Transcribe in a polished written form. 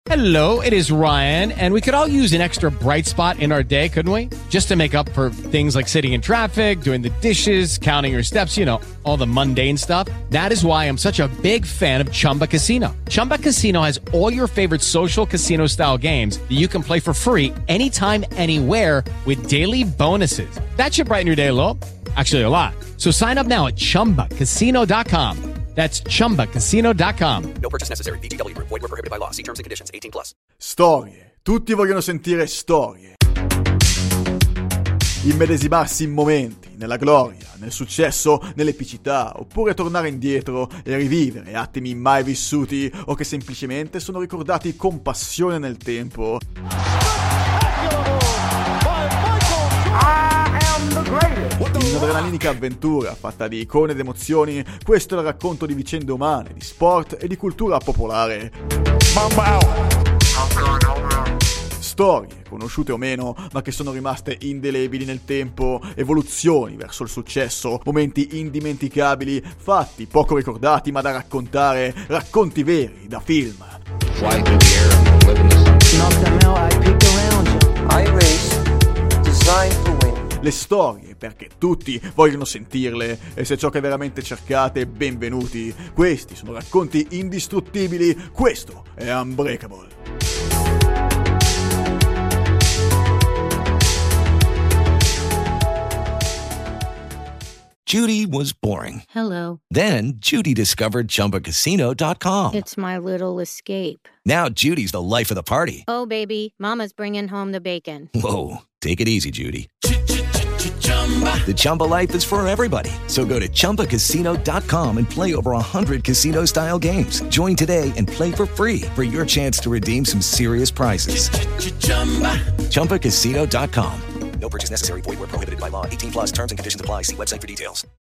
Hello, it is Ryan, and we could all use an extra bright spot in our day, couldn't we? Just to make up for things like sitting in traffic, doing the dishes, counting your steps, you know, all the mundane stuff. That is why I'm such a big fan of Chumba Casino. Chumba Casino has all your favorite social casino-style games that you can play for free anytime, anywhere with daily bonuses. That should brighten your day a little. Actually, a lot. So sign up now at ChumbaCasino.com. That's ChumbaCasino.com. No purchase necessary. VGW Group. Void where prohibited by law. See terms and conditions. 18+. Storie. Tutti vogliono sentire storie. Immedesimarsi in momenti, nella gloria, nel successo, nell'epicità, oppure tornare indietro e rivivere attimi mai vissuti o che semplicemente sono ricordati con passione nel tempo. In un'adrenalinica avventura fatta di icone ed emozioni, questo è il racconto di vicende umane, di sport e di cultura popolare. Storie, conosciute o meno, ma che sono rimaste indelebili nel tempo, evoluzioni verso il successo, momenti indimenticabili, fatti poco ricordati ma da raccontare, racconti veri da film. Fly through the air, live in the Le storie, perché tutti vogliono sentirle, e se ciò che veramente cercate, benvenuti. Questi sono racconti indistruttibili, questo è Unbreakable. Judy was boring. Hello. Then Judy discovered ChumbaCasino.com. It's my little escape. Now Judy's the life of the party. Oh, baby, mama's bringing home the bacon. Whoa, take it easy, Judy. The Chumba life is for everybody. So go to ChumbaCasino.com and play over 100 casino-style games. Join today and play for free for your chance to redeem some serious prizes. ChumbaCasino.com. No purchase necessary. Void where prohibited by law. 18+. Terms and conditions apply. See website for details.